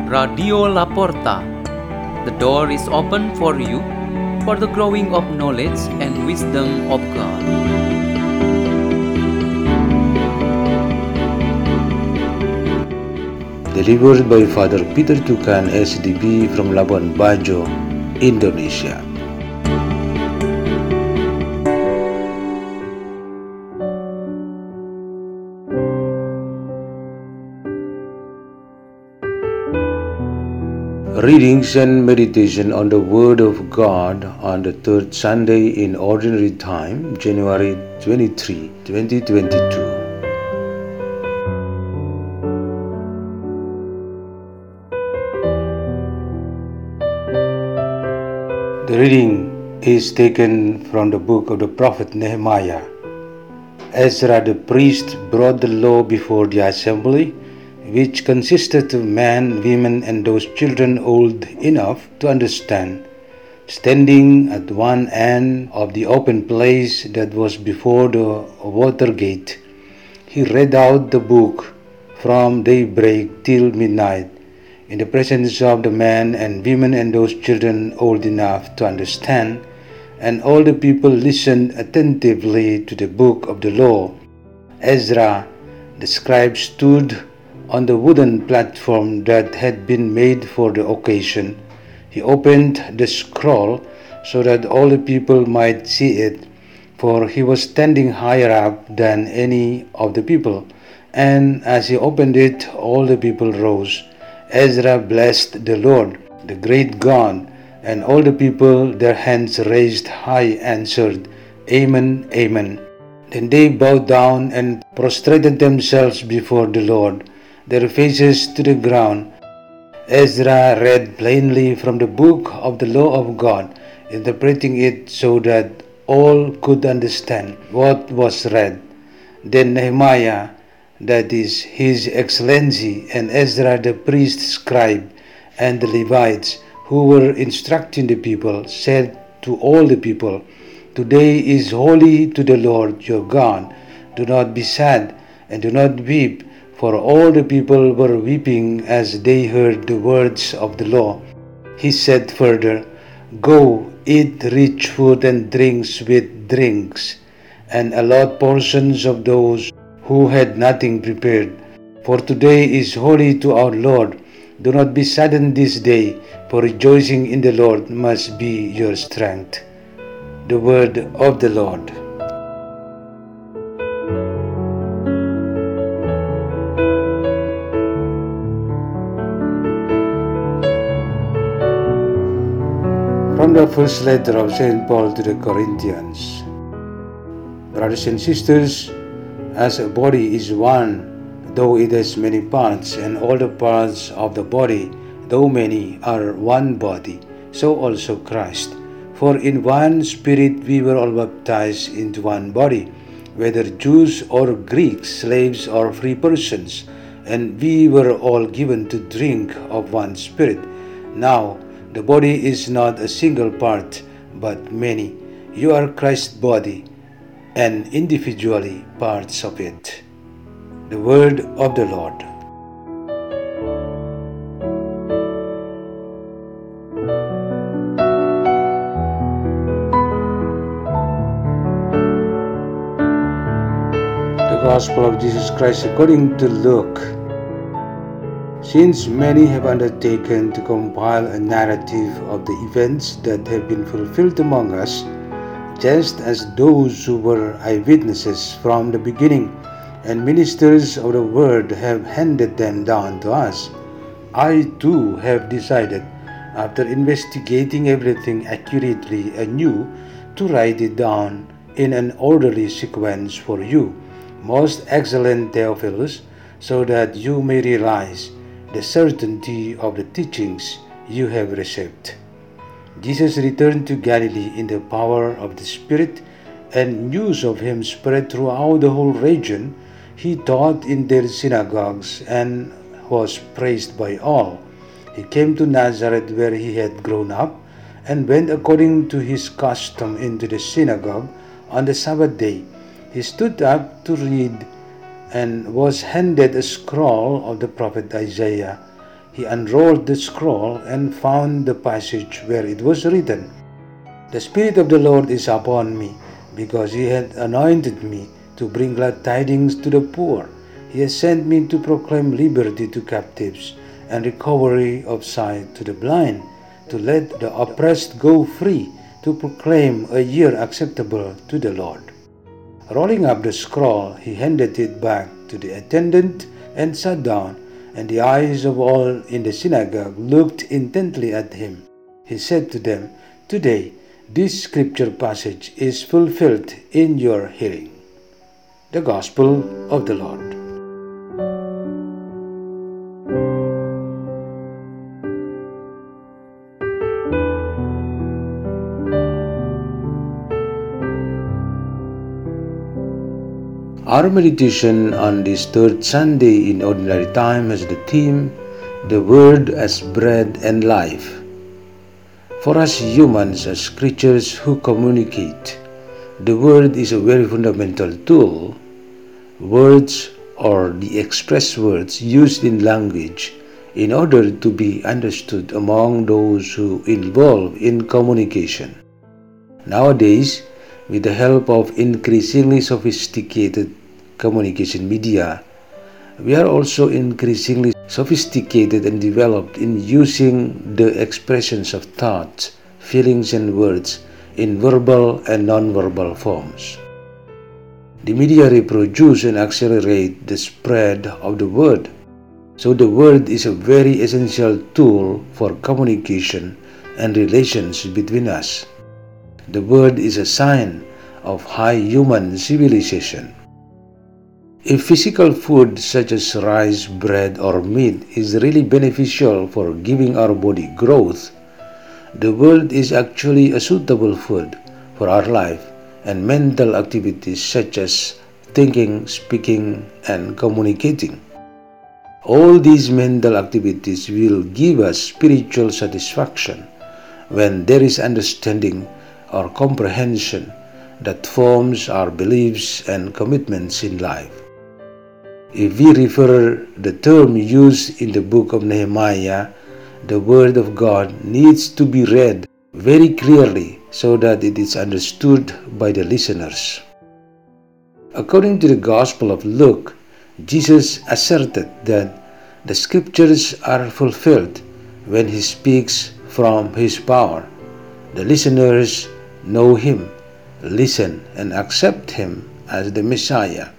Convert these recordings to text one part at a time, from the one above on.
Radio Laporta. The door is open for you for the growing of knowledge and wisdom of God. Delivered by Father Peter Tukan, SDB from Labuan Bajo, Indonesia. Readings and meditation on the Word of God on the third Sunday in Ordinary Time, January 23, 2022. The reading is taken from the book of the prophet Nehemiah. Ezra the priest brought the law before the assembly, which consisted of men, women, and those children old enough to understand. Standing at one end of the open place that was before the water gate, he read out the book from daybreak till midnight, in the presence of the men and women and those children old enough to understand, and all the people listened attentively to the book of the law. Ezra, the scribe, stood on the wooden platform that had been made for the occasion. He opened the scroll so that all the people might see it, for he was standing higher up than any of the people. And as he opened it, all the people rose. Ezra blessed the Lord, the great God, and all the people, their hands raised high, answered, Amen, Amen. Then they bowed down and prostrated themselves before the Lord, their faces to the ground. Ezra read plainly from the book of the law of God, interpreting it so that all could understand what was read. Then Nehemiah, that is His Excellency, and Ezra the priest scribe, and the Levites, who were instructing the people, said to all the people, Today is holy to the Lord your God. Do not be sad, and do not weep, for all the people were weeping as they heard the words of the law. He said further, Go, eat rich food and drink sweet drinks, and allot portions of those who had nothing prepared. For today is holy to our Lord. Do not be saddened this day, for rejoicing in the Lord must be your strength. The word of the Lord. From the first letter of St. Paul to the Corinthians. Brothers and sisters, as a body is one, though it has many parts, and all the parts of the body, though many, are one body, so also Christ. For in one Spirit we were all baptized into one body, whether Jews or Greeks, slaves or free persons, and we were all given to drink of one Spirit. Now, the body is not a single part, but many. You are Christ's body, and individually parts of it. The word of the Lord. The Gospel of Jesus Christ according to Luke. Since many have undertaken to compile a narrative of the events that have been fulfilled among us, just as those who were eyewitnesses from the beginning and ministers of the word have handed them down to us, I too have decided, after investigating everything accurately anew, to write it down in an orderly sequence for you, most excellent Theophilus, so that you may realize the certainty of the teachings you have received. Jesus returned to Galilee in the power of the Spirit, and news of him spread throughout the whole region. He taught in their synagogues and was praised by all. He came to Nazareth where he had grown up, and went according to his custom into the synagogue on the Sabbath day. He stood up to read and was handed a scroll of the prophet Isaiah. he unrolled the scroll and found the passage where it was written, "The Spirit of the Lord is upon me, because he had anointed me to bring glad tidings to the poor. He has sent me to proclaim liberty to captives and recovery of sight to the blind, to let the oppressed go free, to proclaim a year acceptable to the Lord." Rolling up the scroll, he handed it back to the attendant and sat down, and the eyes of all in the synagogue looked intently at him. He said to them, "Today, this scripture passage is fulfilled in your hearing." The Gospel of the Lord. Our meditation on this third Sunday in Ordinary Time has the theme, "The Word as Bread and Life." For us humans, as creatures who communicate, the Word is a very fundamental tool. Words, or the express words used in language, in order to be understood among those who involve in communication. Nowadays, with the help of increasingly sophisticated communication media, we are also increasingly sophisticated and developed in using the expressions of thoughts, feelings, and words in verbal and non-verbal forms. The media reproduce and accelerate the spread of the word, so the word is a very essential tool for communication and relations between us. The word is a sign of high human civilization. If physical food such as rice, bread, or meat is really beneficial for giving our body growth, the word is actually a suitable food for our life and mental activities such as thinking, speaking, and communicating. All these mental activities will give us spiritual satisfaction when there is understanding or comprehension that forms our beliefs and commitments in life. If we refer the term used in the book of Nehemiah, the Word of God needs to be read very clearly so that it is understood by the listeners. According to the Gospel of Luke, Jesus asserted that the scriptures are fulfilled when he speaks from his power. The listeners know him, listen, and accept him as the Messiah.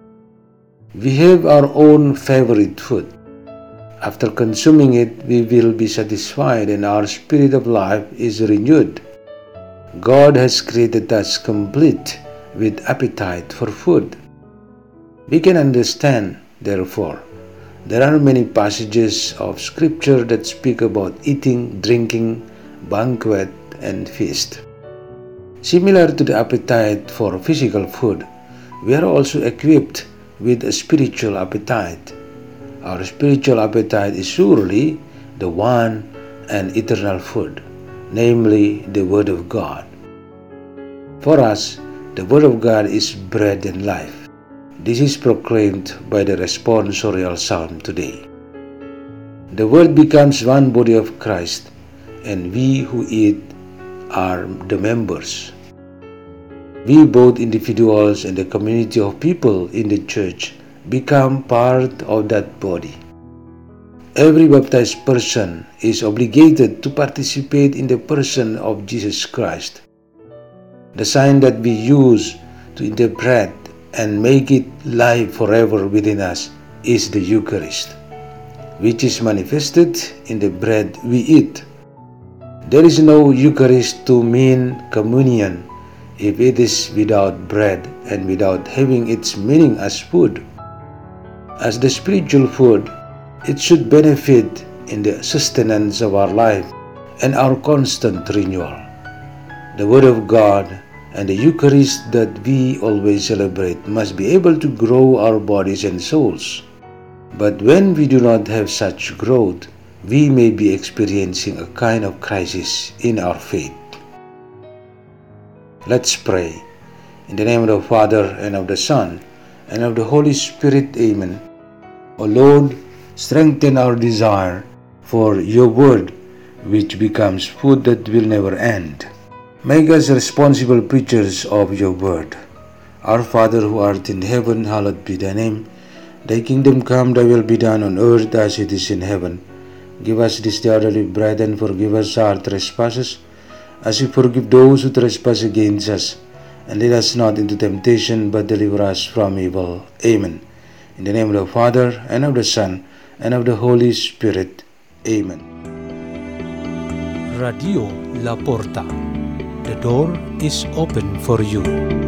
We have our own favorite food. After consuming it, we will be satisfied and our spirit of life is renewed. God has created us complete with appetite for food. We can understand, therefore, there are many passages of scripture that speak about eating, drinking, banquet, and feast. Similar to the appetite for physical food, we are also equipped with a spiritual appetite. Our spiritual appetite is surely the one and eternal food, namely the Word of God. For us, the Word of God is bread and life. This is proclaimed by the responsorial psalm today. The Word becomes one body of Christ, and we who eat are the members. We, both individuals and the community of people in the church, become part of that body. Every baptized person is obligated to participate in the person of Jesus Christ. The sign that we use to interpret and make it live forever within us is the Eucharist, which is manifested in the bread we eat. There is no Eucharist to mean communion if it is without bread and without having its meaning as food. As the spiritual food, it should benefit in the sustenance of our life and our constant renewal. The Word of God and the Eucharist that we always celebrate must be able to grow our bodies and souls. But when we do not have such growth, we may be experiencing a kind of crisis in our faith. Let's pray. In the name of the Father, and of the Son, and of the Holy Spirit. Amen. O Lord, strengthen our desire for your word, which becomes food that will never end. Make us responsible preachers of your word. Our Father who art in heaven, hallowed be thy name. Thy kingdom come, thy will be done on earth as it is in heaven. Give us this day our daily bread, and forgive us our trespasses, as we forgive those who trespass against us. And lead us not into temptation, but deliver us from evil. Amen. In the name of the Father, and of the Son, and of the Holy Spirit. Amen. Radio La Porta. The door is open for you.